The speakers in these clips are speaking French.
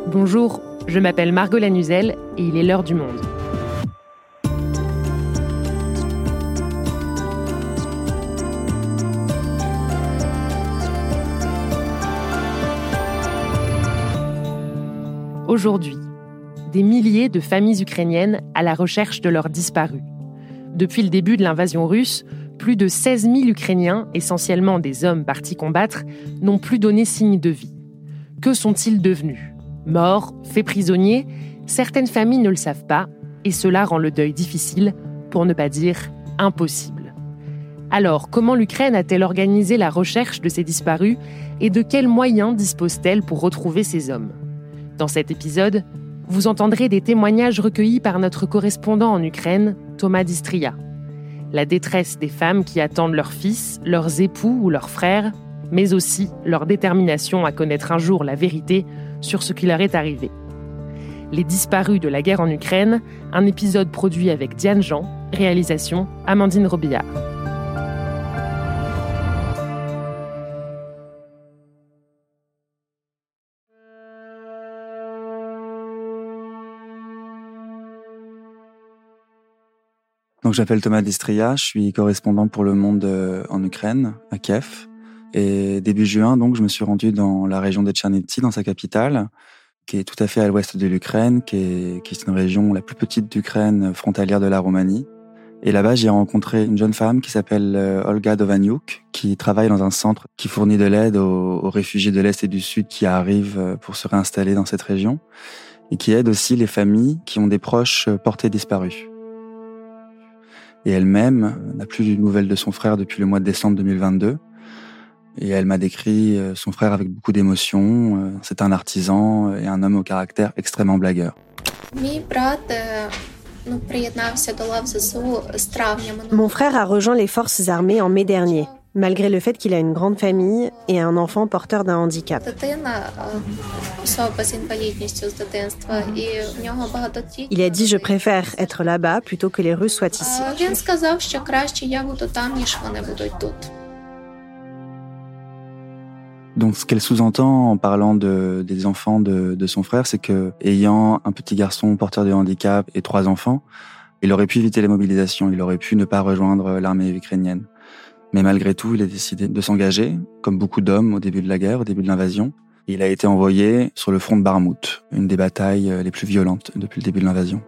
Bonjour, je m'appelle Margot Lanuzel et il est l'heure du monde. Aujourd'hui, des milliers de familles ukrainiennes à la recherche de leurs disparus. Depuis le début de l'invasion russe, plus de 16 000 Ukrainiens, essentiellement des hommes partis combattre, n'ont plus donné signe de vie. Que sont-ils devenus ? Morts, faits prisonniers ? Certaines familles ne le savent pas, et cela rend le deuil difficile, pour ne pas dire impossible. Alors, comment l'Ukraine a-t-elle organisé la recherche de ces disparus et de quels moyens dispose-t-elle pour retrouver ces hommes ? Dans cet épisode, vous entendrez des témoignages recueillis par notre correspondant en Ukraine, Thomas Distria. La détresse des femmes qui attendent leurs fils, leurs époux ou leurs frères, mais aussi leur détermination à connaître un jour la vérité sur ce qui leur est arrivé. Les disparus de la guerre en Ukraine, un épisode produit avec Diane Jean, réalisation Amandine Robillard. Donc, je m'appelle Thomas Distria, je suis correspondant pour Le Monde en Ukraine, à Kiev. Et début juin, donc, je me suis rendu dans la région de Tchernivtsi, dans sa capitale, qui est tout à fait à l'ouest de l'Ukraine, qui est une région la plus petite d'Ukraine, frontalière de la Roumanie. Et là-bas, j'ai rencontré une jeune femme qui s'appelle Olga Dovaniuk, qui travaille dans un centre qui fournit de l'aide aux réfugiés de l'Est et du Sud qui arrivent pour se réinstaller dans cette région, et qui aide aussi les familles qui ont des proches portés disparus. Et elle-même n'a plus de nouvelles de son frère depuis le mois de décembre 2022. Et elle m'a décrit son frère avec beaucoup d'émotion. C'est un artisan et un homme au caractère extrêmement blagueur. Mon frère a rejoint les forces armées en mai dernier, malgré le fait qu'il a une grande famille et un enfant porteur d'un handicap. Il a dit « Je préfère être là-bas plutôt que les Russes soient ici ». Donc, ce qu'elle sous-entend en parlant des enfants de son frère, c'est que, ayant un petit garçon porteur de handicap et 3 enfants, il aurait pu éviter les mobilisations, il aurait pu ne pas rejoindre l'armée ukrainienne. Mais malgré tout, il a décidé de s'engager, comme beaucoup d'hommes au début de la guerre, au début de l'invasion. Il a été envoyé sur le front de Barmout, une des batailles les plus violentes depuis le début de l'invasion.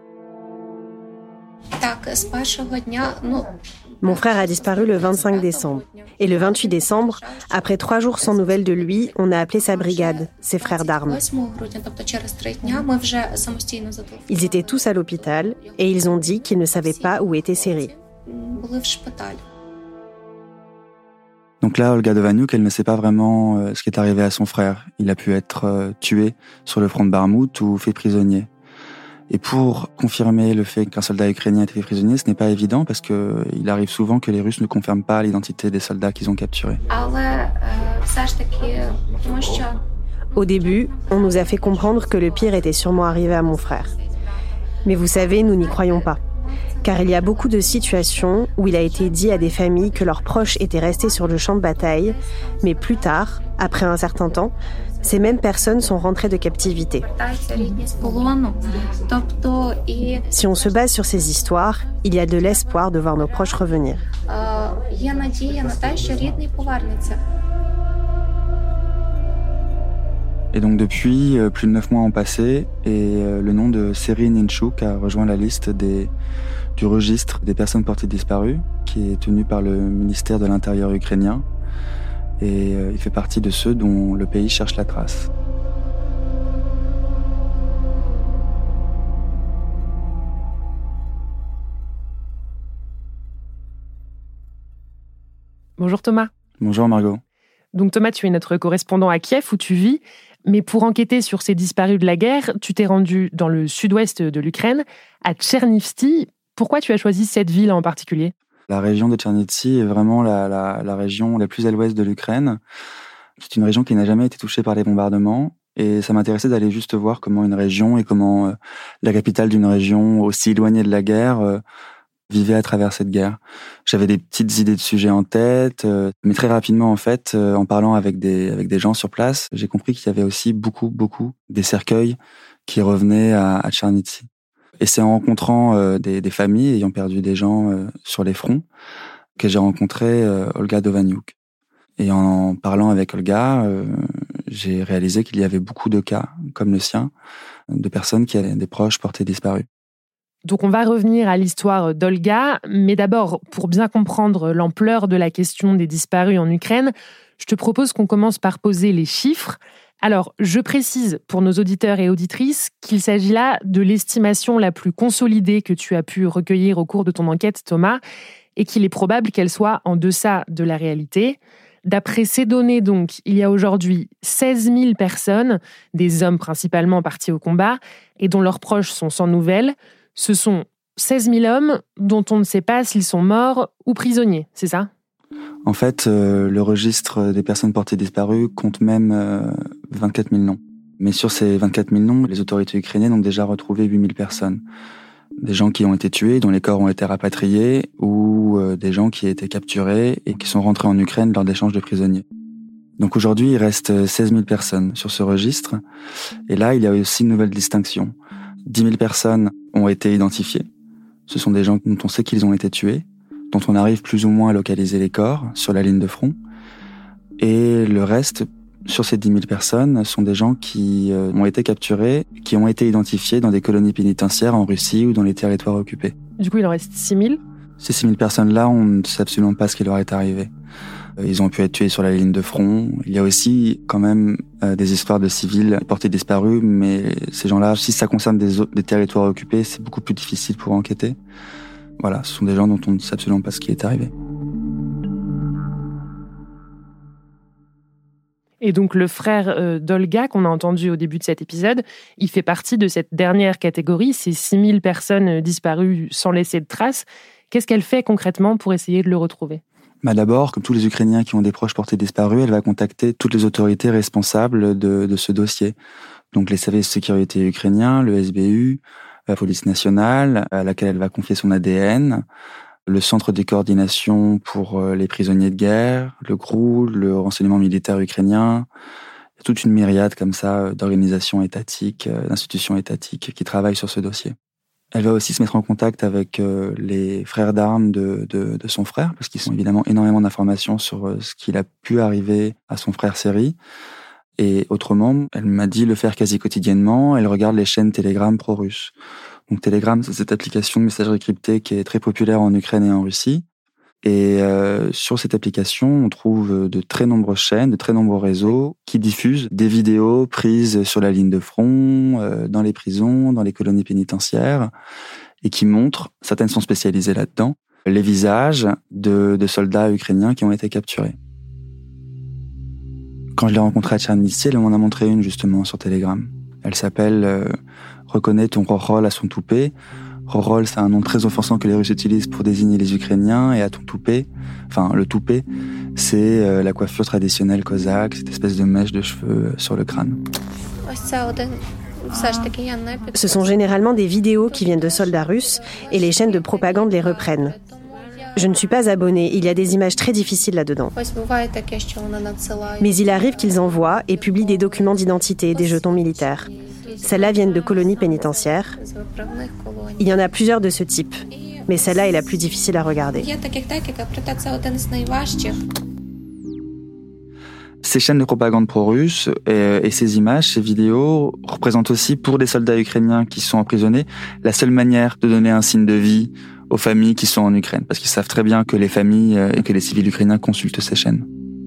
Mon frère a disparu le 25 décembre. Et le 28 décembre, après 3 jours sans nouvelles de lui, on a appelé sa brigade, ses frères d'armes. Ils étaient tous à l'hôpital et ils ont dit qu'ils ne savaient pas où était Serhii. Donc là, Olga Dovaniuk, elle ne sait pas vraiment ce qui est arrivé à son frère. Il a pu être tué sur le front de Barmout ou fait prisonnier. Et pour confirmer le fait qu'un soldat ukrainien a été fait prisonnier, ce n'est pas évident parce que il arrive souvent que les Russes ne confirment pas l'identité des soldats qu'ils ont capturés. Au début, on nous a fait comprendre que le pire était sûrement arrivé à mon frère. Mais vous savez, nous n'y croyons pas. Car il y a beaucoup de situations où il a été dit à des familles que leurs proches étaient restés sur le champ de bataille, mais plus tard, après un certain temps, ces mêmes personnes sont rentrées de captivité. Si on se base sur ces histoires, il y a de l'espoir de voir nos proches revenir. Et donc depuis, plus de 9 mois ont passé et le nom de Serhii Ninchuk a rejoint la liste du registre des personnes portées disparues qui est tenu par le ministère de l'Intérieur ukrainien. Et il fait partie de ceux dont le pays cherche la trace. Bonjour Thomas. Bonjour Margot. Donc Thomas, tu es notre correspondant à Kiev où tu vis, mais pour enquêter sur ces disparus de la guerre, tu t'es rendu dans le sud-ouest de l'Ukraine, à Tchernivtsi. Pourquoi tu as choisi cette ville en particulier ? La région de Tchernivtsi est vraiment la région la plus à l'ouest de l'Ukraine. C'est une région qui n'a jamais été touchée par les bombardements. Et ça m'intéressait d'aller juste voir comment une région et comment la capitale d'une région aussi éloignée de la guerre vivais à travers cette guerre. J'avais des petites idées de sujets en tête, mais très rapidement, en fait, en parlant avec des gens sur place, j'ai compris qu'il y avait aussi beaucoup des cercueils qui revenaient à Tchernivtsi. Et c'est en rencontrant des familles ayant perdu des gens sur les fronts que j'ai rencontré Olga Dovaniuk. Et en parlant avec Olga, j'ai réalisé qu'il y avait beaucoup de cas, comme le sien, de personnes qui avaient des proches portés disparus. Donc on va revenir à l'histoire d'Olga, mais d'abord, pour bien comprendre l'ampleur de la question des disparus en Ukraine, je te propose qu'on commence par poser les chiffres. Alors, je précise pour nos auditeurs et auditrices qu'il s'agit là de l'estimation la plus consolidée que tu as pu recueillir au cours de ton enquête, Thomas, et qu'il est probable qu'elle soit en deçà de la réalité. D'après ces données, donc, il y a aujourd'hui 16 000 personnes, des hommes principalement partis au combat, et dont leurs proches sont sans nouvelles. Ce sont 16 000 hommes dont on ne sait pas s'ils sont morts ou prisonniers, c'est ça ? En fait, le registre des personnes portées disparues compte même 24 000 noms. Mais sur ces 24 000 noms, les autorités ukrainiennes ont déjà retrouvé 8 000 personnes. Des gens qui ont été tués, dont les corps ont été rapatriés, ou des gens qui ont été capturés et qui sont rentrés en Ukraine lors d'échanges de prisonniers. Donc aujourd'hui, il reste 16 000 personnes sur ce registre. Et là, il y a aussi une nouvelle distinction. 10 000 personnes ont été identifiées. Ce sont des gens dont on sait qu'ils ont été tués, dont on arrive plus ou moins à localiser les corps sur la ligne de front. Et le reste, sur ces 10 000 personnes, sont des gens qui ont été capturés, qui ont été identifiés dans des colonies pénitentiaires en Russie ou dans les territoires occupés. Du coup, il en reste 6 000 ? Ces 6 000 personnes-là, on ne sait absolument pas ce qui leur est arrivé. Ils ont pu être tués sur la ligne de front. Il y a aussi quand même des histoires de civils portés disparus, mais ces gens-là, si ça concerne des territoires occupés, c'est beaucoup plus difficile pour enquêter. Voilà, ce sont des gens dont on ne sait absolument pas ce qui est arrivé. Et donc le frère d'Olga, qu'on a entendu au début de cet épisode, il fait partie de cette dernière catégorie, ces 6 000 personnes disparues sans laisser de traces. Qu'est-ce qu'elle fait concrètement pour essayer de le retrouver ? D'abord, comme tous les Ukrainiens qui ont des proches portés disparus, elle va contacter toutes les autorités responsables de ce dossier. Donc les services de sécurité ukrainiens, le SBU, la police nationale, à laquelle elle va confier son ADN, le centre de coordination pour les prisonniers de guerre, le GRU, le renseignement militaire ukrainien, toute une myriade comme ça d'organisations étatiques, d'institutions étatiques qui travaillent sur ce dossier. Elle va aussi se mettre en contact avec les frères d'armes de son frère, parce qu'ils ont évidemment énormément d'informations sur ce qu'il a pu arriver à son frère Serhiy. Et autrement, elle m'a dit le faire quasi quotidiennement, elle regarde les chaînes Telegram pro-russes. Donc Telegram, c'est cette application de messagerie cryptée qui est très populaire en Ukraine et en Russie. Et sur cette application, on trouve de très nombreuses chaînes, de très nombreux réseaux qui diffusent des vidéos prises sur la ligne de front, dans les prisons, dans les colonies pénitentiaires, et qui montrent, certaines sont spécialisées là-dedans, les visages de soldats ukrainiens qui ont été capturés. Quand je l'ai rencontrée à Tchernivtsi, elle m'en a montré une justement sur Telegram. Elle s'appelle « Reconnais ton Rorol à son toupet ». Rorol, c'est un nom très offensant que les Russes utilisent pour désigner les Ukrainiens, et à ton toupet, enfin le toupet, c'est la coiffure traditionnelle cosaque, cette espèce de mèche de cheveux sur le crâne. Ce sont généralement des vidéos qui viennent de soldats russes et les chaînes de propagande les reprennent. Je ne suis pas abonnée, il y a des images très difficiles là-dedans. Mais il arrive qu'ils envoient et publient des documents d'identité, des jetons militaires. Celles-là viennent de colonies pénitentiaires. Il y en a plusieurs de ce type, mais celle-là est la plus difficile à regarder. Ces chaînes de propagande pro-russe et ces images, ces vidéos représentent aussi pour des soldats ukrainiens qui sont emprisonnés la seule manière de donner un signe de vie aux familles qui sont en Ukraine, parce qu'ils savent très bien que les familles et que les civils ukrainiens consultent ces chaînes.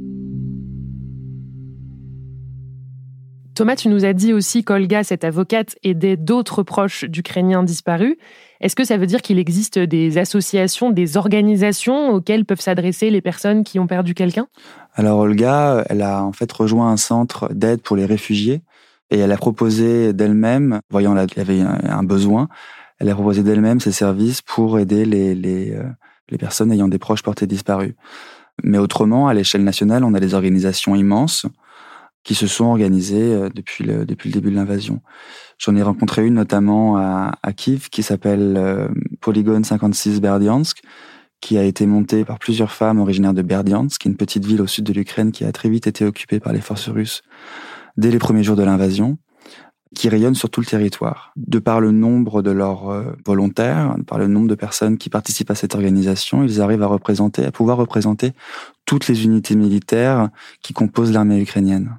Thomas, tu nous as dit aussi qu'Olga, cette avocate, aidait d'autres proches d'Ukrainiens disparus. Est-ce que ça veut dire qu'il existe des associations, des organisations auxquelles peuvent s'adresser les personnes qui ont perdu quelqu'un ? Alors Olga, elle a en fait rejoint un centre d'aide pour les réfugiés et elle a proposé d'elle-même, voyant qu'il y avait un besoin, elle a proposé d'elle-même ses services pour aider les personnes ayant des proches portés disparus. Mais autrement, à l'échelle nationale, on a des organisations immenses. qui se sont organisées depuis le début de l'invasion. J'en ai rencontré une notamment à Kiev qui s'appelle Polygone 56 Berdiansk, qui a été montée par plusieurs femmes originaires de Berdiansk, qui est une petite ville au sud de l'Ukraine qui a très vite été occupée par les forces russes dès les premiers jours de l'invasion, qui rayonne sur tout le territoire. De par le nombre de leurs volontaires, par le nombre de personnes qui participent à cette organisation, ils arrivent à pouvoir représenter toutes les unités militaires qui composent l'armée ukrainienne.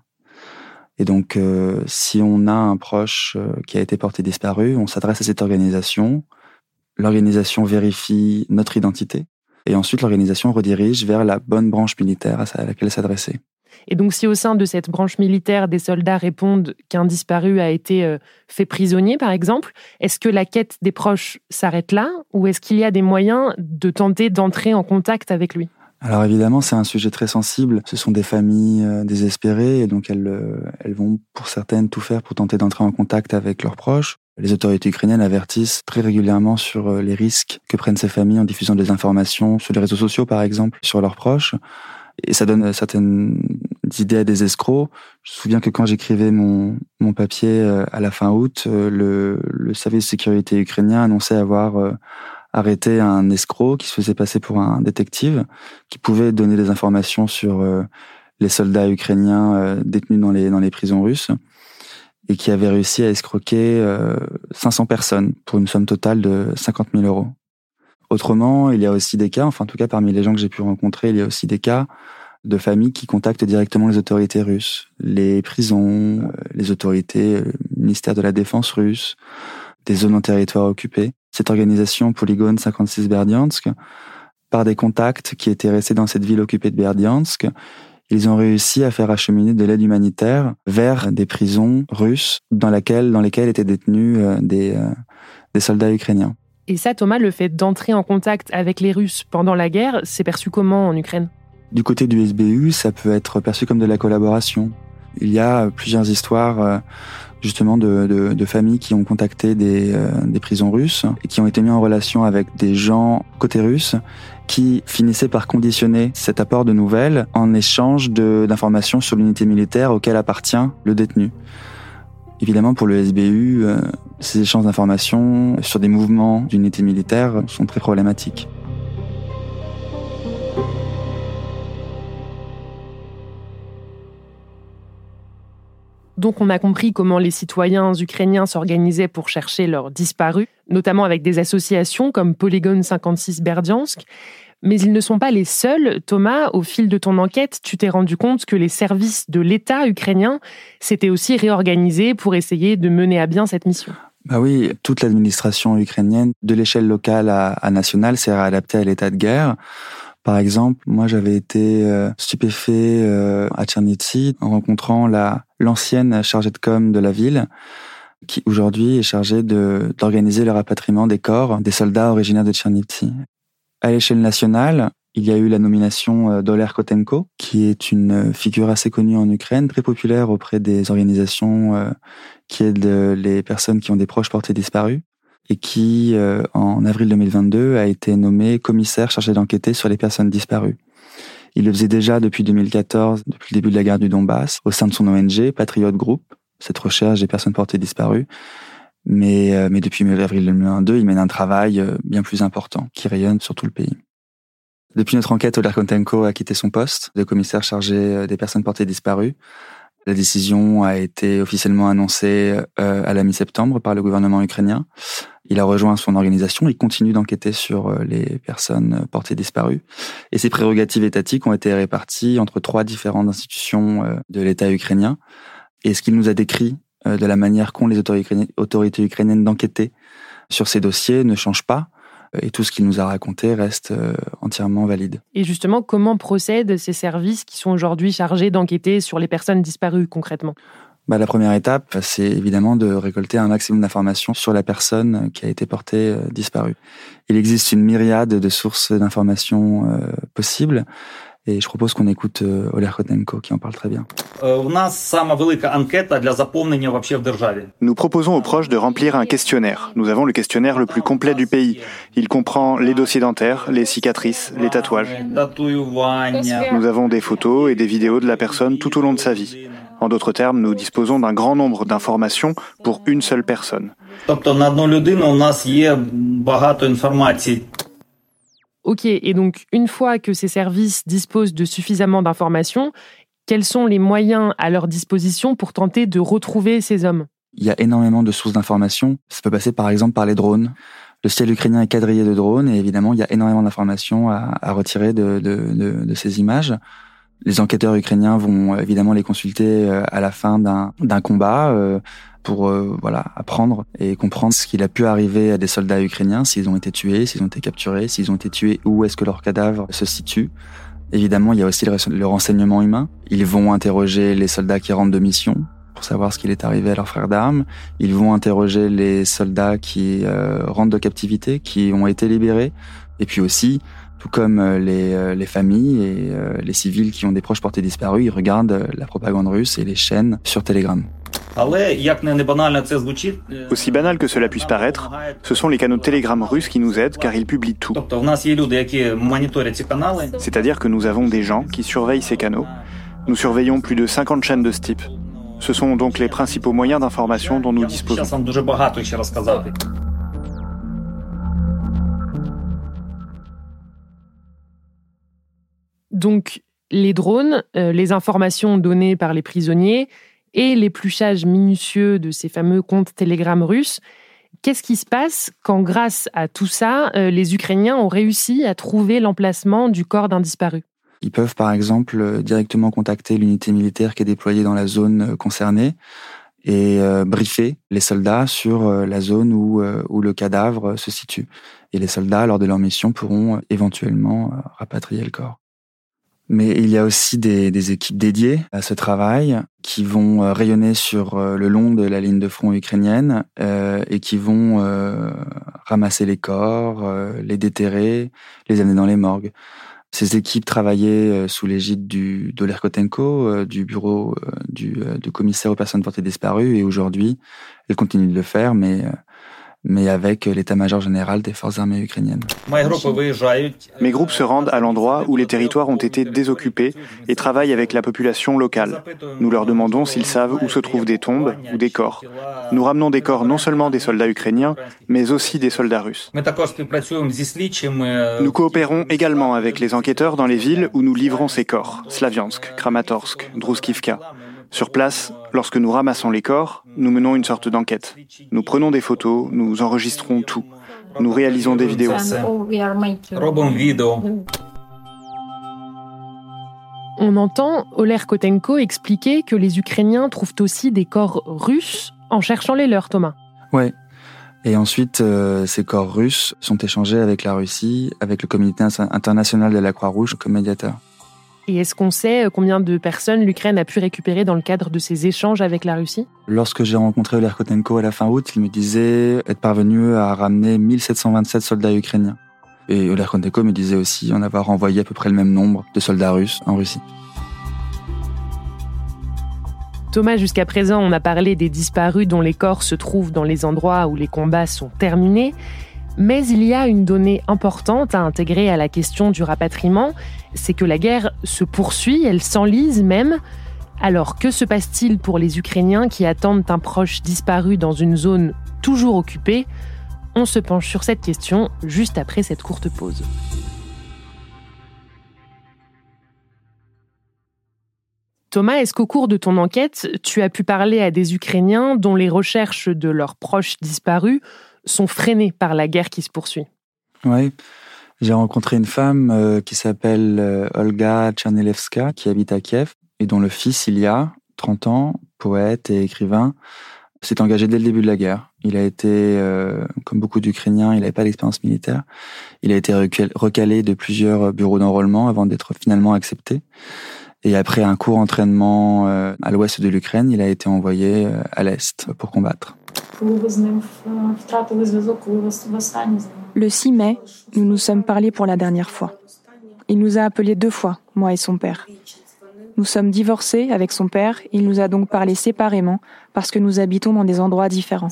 Et donc, si on a un proche qui a été porté disparu, on s'adresse à cette organisation. L'organisation vérifie notre identité. Et ensuite, l'organisation redirige vers la bonne branche militaire à laquelle s'adresser. Et donc, si au sein de cette branche militaire, des soldats répondent qu'un disparu a été fait prisonnier, par exemple, est-ce que la quête des proches s'arrête là ou est-ce qu'il y a des moyens de tenter d'entrer en contact avec lui ? Alors évidemment, c'est un sujet très sensible. Ce sont des familles désespérées et donc elles vont, pour certaines, tout faire pour tenter d'entrer en contact avec leurs proches. Les autorités ukrainiennes avertissent très régulièrement sur les risques que prennent ces familles en diffusant des informations sur les réseaux sociaux, par exemple, sur leurs proches. Et ça donne certaines idées à des escrocs. Je me souviens que quand j'écrivais mon papier à la fin août, le service de sécurité ukrainien annonçait avoir arrêté un escroc qui se faisait passer pour un détective, qui pouvait donner des informations sur les soldats ukrainiens détenus dans les prisons russes, et qui avait réussi à escroquer 500 personnes pour une somme totale de 50 000 euros. Autrement, il y a aussi des cas, enfin en tout cas parmi les gens que j'ai pu rencontrer, il y a aussi des cas de familles qui contactent directement les autorités russes, les prisons, les autorités, le ministère de la Défense russe, des zones en territoire occupé. Cette organisation Polygone 56 Berdiansk, par des contacts qui étaient restés dans cette ville occupée de Berdiansk, ils ont réussi à faire acheminer de l'aide humanitaire vers des prisons russes dans lesquelles étaient détenus des soldats ukrainiens. Et ça, Thomas, le fait d'entrer en contact avec les Russes pendant la guerre, c'est perçu comment en Ukraine ? Du côté du SBU, ça peut être perçu comme de la collaboration. Il y a plusieurs histoires justement de familles qui ont contacté des prisons russes et qui ont été mis en relation avec des gens côté russe qui finissaient par conditionner cet apport de nouvelles en échange d'informations sur l'unité militaire auquel appartient le détenu. Évidemment, pour le SBU, ces échanges d'informations sur des mouvements d'unités militaires sont très problématiques. Donc on a compris comment les citoyens ukrainiens s'organisaient pour chercher leurs disparus, notamment avec des associations comme Polygone 56 Berdiansk. Mais ils ne sont pas les seuls. Thomas, au fil de ton enquête, tu t'es rendu compte que les services de l'État ukrainien s'étaient aussi réorganisés pour essayer de mener à bien cette mission. Bah oui, toute l'administration ukrainienne, de l'échelle locale à nationale, s'est réadaptée à l'état de guerre. Par exemple, moi j'avais été stupéfait à Tchernivtsi en rencontrant l'ancienne chargée de com de la ville, qui aujourd'hui est chargée d'organiser le rapatriement des corps des soldats originaires de Tchernivtsi. À l'échelle nationale, il y a eu la nomination d'Oler Kotenko, qui est une figure assez connue en Ukraine, très populaire auprès des organisations qui aident les personnes qui ont des proches portés disparus, et qui, en avril 2022, a été nommé commissaire chargé d'enquêter sur les personnes disparues. Il le faisait déjà depuis 2014, depuis le début de la guerre du Donbass, au sein de son ONG, Patriot Group, cette recherche des personnes portées disparues. Mais depuis avril 2022, il mène un travail bien plus important, qui rayonne sur tout le pays. Depuis notre enquête, Oler Kotenko a quitté son poste de commissaire chargé des personnes portées disparues. La décision a été officiellement annoncée à la mi-septembre par le gouvernement ukrainien. Il a rejoint son organisation et continue d'enquêter sur les personnes portées disparues. Et ses prérogatives étatiques ont été réparties entre 3 différentes institutions de l'État ukrainien. Et ce qu'il nous a décrit de la manière qu'ont les autorités ukrainiennes d'enquêter sur ces dossiers ne change pas. Et tout ce qu'il nous a raconté reste entièrement valide. Et justement, comment procèdent ces services qui sont aujourd'hui chargés d'enquêter sur les personnes disparues concrètement ? La première étape, c'est évidemment de récolter un maximum d'informations sur la personne qui a été portée disparue. Il existe une myriade de sources d'informations possibles. Et je propose qu'on écoute Oler Kotenko qui en parle très bien. Nous proposons aux proches de remplir un questionnaire. Nous avons le questionnaire le plus complet du pays. Il comprend les dossiers dentaires, les cicatrices, les tatouages. Nous avons des photos et des vidéos de la personne tout au long de sa vie. En d'autres termes, nous disposons d'un grand nombre d'informations pour une seule personne. Ok, et donc une fois que ces services disposent de suffisamment d'informations, quels sont les moyens à leur disposition pour tenter de retrouver ces hommes ? Il y a énormément de sources d'informations. Ça peut passer par exemple par les drones. Le ciel ukrainien est quadrillé de drones et évidemment, il y a énormément d'informations à retirer de ces images. Les enquêteurs ukrainiens vont évidemment les consulter à la fin d'un combat pour apprendre et comprendre ce qu'il a pu arriver à des soldats ukrainiens, s'ils ont été tués, s'ils ont été capturés, s'ils ont été tués, où est-ce que leurs cadavres se situent. Évidemment, il y a aussi le renseignement humain. Ils vont interroger les soldats qui rentrent de mission pour savoir ce qu'il est arrivé à leurs frères d'armes. Ils vont interroger les soldats qui rentrent de captivité, qui ont été libérés. Et puis aussi, tout comme les familles et les civils qui ont des proches portés disparus, ils regardent la propagande russe et les chaînes sur Telegram. Aussi banal que cela puisse paraître, ce sont les canaux de Telegram russes qui nous aident car ils publient tout. C'est-à-dire que nous avons des gens qui surveillent ces canaux. Nous surveillons plus de 50 chaînes de ce type. Ce sont donc les principaux moyens d'information dont nous disposons. Donc, les drones, les informations données par les prisonniers et l'épluchage minutieux de ces fameux comptes Telegram russes. Qu'est-ce qui se passe quand, grâce à tout ça, les Ukrainiens ont réussi à trouver l'emplacement du corps d'un disparu ? Ils peuvent, par exemple, directement contacter l'unité militaire qui est déployée dans la zone concernée et briefer les soldats sur la zone où le cadavre se situe. Et les soldats, lors de leur mission, pourront éventuellement rapatrier le corps. Mais il y a aussi des équipes dédiées à ce travail qui vont rayonner sur le long de la ligne de front ukrainienne et qui vont ramasser les corps, les déterrer, les amener dans les morgues. Ces équipes travaillaient sous l'égide d'Oleg Kotenko, du bureau du commissaire aux personnes portées disparues, et aujourd'hui, elles continuent de le faire, mais avec l'état-major général des forces armées ukrainiennes. Mes groupes se rendent à l'endroit où les territoires ont été désoccupés et travaillent avec la population locale. Nous leur demandons s'ils savent où se trouvent des tombes ou des corps. Nous ramenons des corps non seulement des soldats ukrainiens, mais aussi des soldats russes. Nous coopérons également avec les enquêteurs dans les villes où nous livrons ces corps, Slaviansk, Kramatorsk, Druskivka. Sur place, lorsque nous ramassons les corps, nous menons une sorte d'enquête. Nous prenons des photos, nous enregistrons tout. Nous réalisons des vidéos. On entend Oleg Kotenko expliquer que les Ukrainiens trouvent aussi des corps russes en cherchant les leurs, Thomas. Ouais. Et ensuite, ces corps russes sont échangés avec la Russie, avec le comité international de la Croix-Rouge comme médiateur. Et est-ce qu'on sait combien de personnes l'Ukraine a pu récupérer dans le cadre de ces échanges avec la Russie ? Lorsque j'ai rencontré Oleg Kotenko à la fin août, il me disait être parvenu à ramener 1727 soldats ukrainiens. Et Oleg Kotenko me disait aussi en avoir envoyé à peu près le même nombre de soldats russes en Russie. Thomas, jusqu'à présent, on a parlé des disparus dont les corps se trouvent dans les endroits où les combats sont terminés. Mais il y a une donnée importante à intégrer à la question du rapatriement, c'est que la guerre se poursuit, elle s'enlise même. Alors que se passe-t-il pour les Ukrainiens qui attendent un proche disparu dans une zone toujours occupée ? On se penche sur cette question juste après cette courte pause. Thomas, est-ce qu'au cours de ton enquête, tu as pu parler à des Ukrainiens dont les recherches de leurs proches disparus sont freinées par la guerre qui se poursuit ? Oui, j'ai rencontré une femme qui s'appelle Olga Tchernelevska, qui habite à Kiev, et dont le fils, Ilya, 30 ans, poète et écrivain, s'est engagé dès le début de la guerre. Il a été, comme beaucoup d'Ukrainiens, il n'avait pas d'expérience militaire. Il a été recalé de plusieurs bureaux d'enrôlement avant d'être finalement accepté. Et après un court entraînement à l'ouest de l'Ukraine, il a été envoyé à l'est pour combattre. Le 6 mai, nous nous sommes parlé pour la dernière fois. Il nous a appelés 2 fois, moi et son père. Nous sommes divorcés avec son père, il nous a donc parlé séparément parce que nous habitons dans des endroits différents.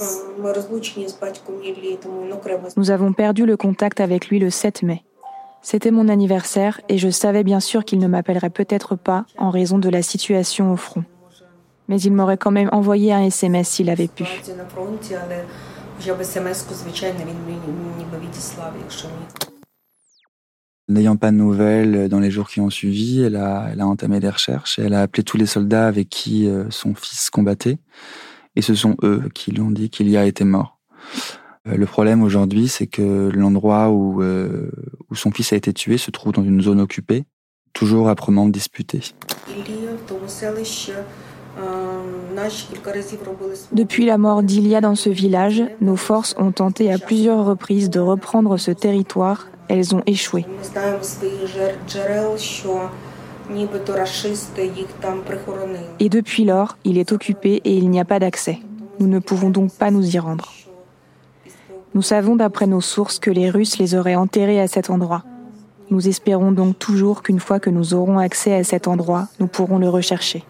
Nous avons perdu le contact avec lui le 7 mai. C'était mon anniversaire et je savais bien sûr qu'il ne m'appellerait peut-être pas en raison de la situation au front. mais il m'aurait quand même envoyé un SMS s'il avait pu. N'ayant pas de nouvelles dans les jours qui ont suivi, elle a entamé des recherches et elle a appelé tous les soldats avec qui son fils combattait. Et ce sont eux qui lui ont dit qu'Ilya était mort. Le problème aujourd'hui, c'est que l'endroit où son fils a été tué se trouve dans une zone occupée, toujours âprement disputée. Depuis la mort d'Ilya dans ce village, nos forces ont tenté à plusieurs reprises de reprendre ce territoire. Elles ont échoué. Et depuis lors, il est occupé et il n'y a pas d'accès. Nous ne pouvons donc pas nous y rendre. Nous savons d'après nos sources que les Russes les auraient enterrés à cet endroit. Nous espérons donc toujours qu'une fois que nous aurons accès à cet endroit, nous pourrons le rechercher.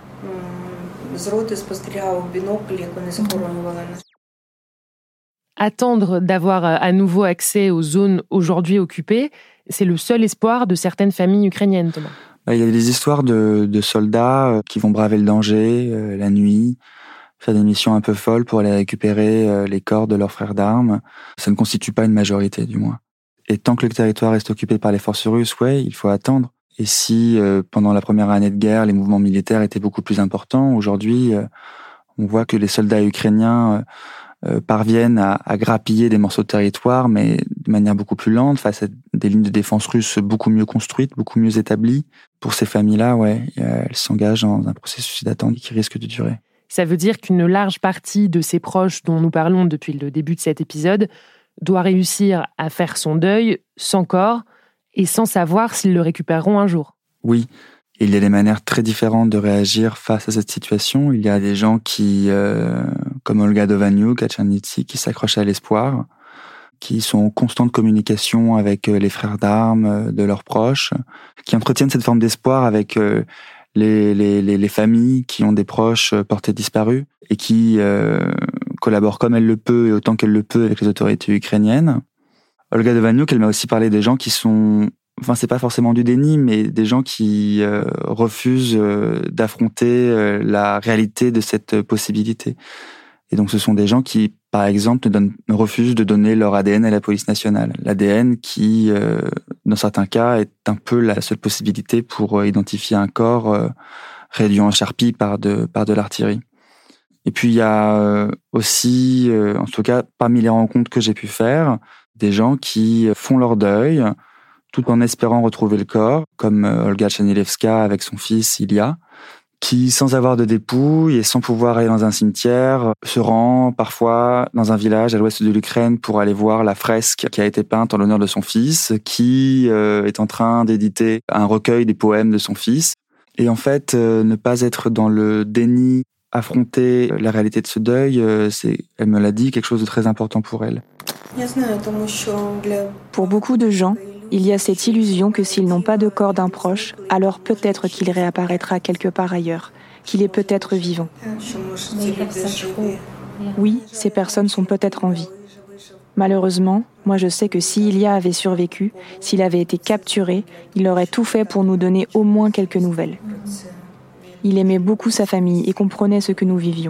Attendre d'avoir à nouveau accès aux zones aujourd'hui occupées, c'est le seul espoir de certaines familles ukrainiennes, Thomas. Il y a des histoires de soldats qui vont braver le danger la nuit, faire des missions un peu folles pour aller récupérer les corps de leurs frères d'armes. Ça ne constitue pas une majorité, du moins. Et tant que le territoire reste occupé par les forces russes, il faut attendre. Et si, pendant la première année de guerre, les mouvements militaires étaient beaucoup plus importants, aujourd'hui, on voit que les soldats ukrainiens parviennent à grappiller des morceaux de territoire, mais de manière beaucoup plus lente, face à des lignes de défense russes beaucoup mieux construites, beaucoup mieux établies. Pour ces familles-là, elles s'engagent dans un processus d'attente qui risque de durer. Ça veut dire qu'une large partie de ces proches dont nous parlons depuis le début de cet épisode doit réussir à faire son deuil sans corps et sans savoir s'ils le récupéreront un jour. Oui, il y a des manières très différentes de réagir face à cette situation. Il y a des gens qui, comme Olga Dovaniuk à Tchernivtsi, qui s'accrochent à l'espoir, qui sont en constante communication avec les frères d'armes de leurs proches, qui entretiennent cette forme d'espoir avec les familles qui ont des proches portés disparus et qui collabore comme elle le peut et autant qu'elle le peut avec les autorités ukrainiennes. Olga Dovaniuk, elle m'a aussi parlé des gens qui sont, c'est pas forcément du déni, mais des gens qui refusent d'affronter la réalité de cette possibilité. Et donc ce sont des gens qui, par exemple, refusent de donner leur ADN à la police nationale. L'ADN qui, dans certains cas, est un peu la seule possibilité pour identifier un corps réduit en charpie par de l'artillerie. Et puis il y a aussi, en tout cas parmi les rencontres que j'ai pu faire, des gens qui font leur deuil tout en espérant retrouver le corps, comme Olga Chanilevska avec son fils Ilya, qui, sans avoir de dépouille et sans pouvoir aller dans un cimetière, se rend parfois dans un village à l'ouest de l'Ukraine pour aller voir la fresque qui a été peinte en l'honneur de son fils, qui est en train d'éditer un recueil des poèmes de son fils. Et en fait, ne pas être dans le déni, affronter la réalité de ce deuil, elle me l'a dit, quelque chose de très important pour elle. Pour beaucoup de gens, il y a cette illusion que s'ils n'ont pas de corps d'un proche, alors peut-être qu'il réapparaîtra quelque part ailleurs, qu'il est peut-être vivant. Oui, ces personnes sont peut-être en vie. Malheureusement, moi je sais que si Ilya avait survécu, s'il avait été capturé, il aurait tout fait pour nous donner au moins quelques nouvelles. Il aimait beaucoup sa famille et comprenait ce que nous vivions.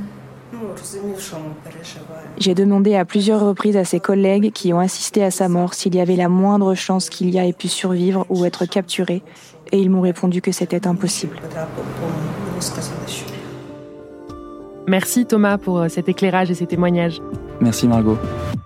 J'ai demandé à plusieurs reprises à ses collègues qui ont assisté à sa mort s'il y avait la moindre chance qu'Ilya ait pu survivre ou être capturé, et ils m'ont répondu que c'était impossible. Merci Thomas pour cet éclairage et ces témoignages. Merci Margot.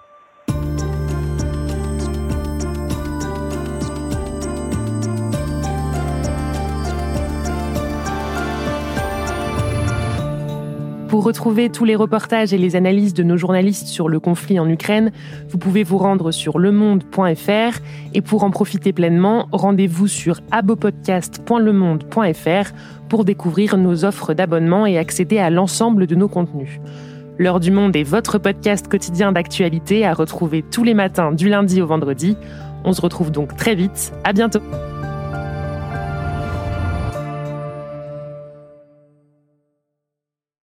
Pour retrouver tous les reportages et les analyses de nos journalistes sur le conflit en Ukraine, vous pouvez vous rendre sur lemonde.fr et pour en profiter pleinement, rendez-vous sur abopodcast.lemonde.fr pour découvrir nos offres d'abonnement et accéder à l'ensemble de nos contenus. L'heure du monde est votre podcast quotidien d'actualité à retrouver tous les matins du lundi au vendredi. On se retrouve donc très vite. À bientôt.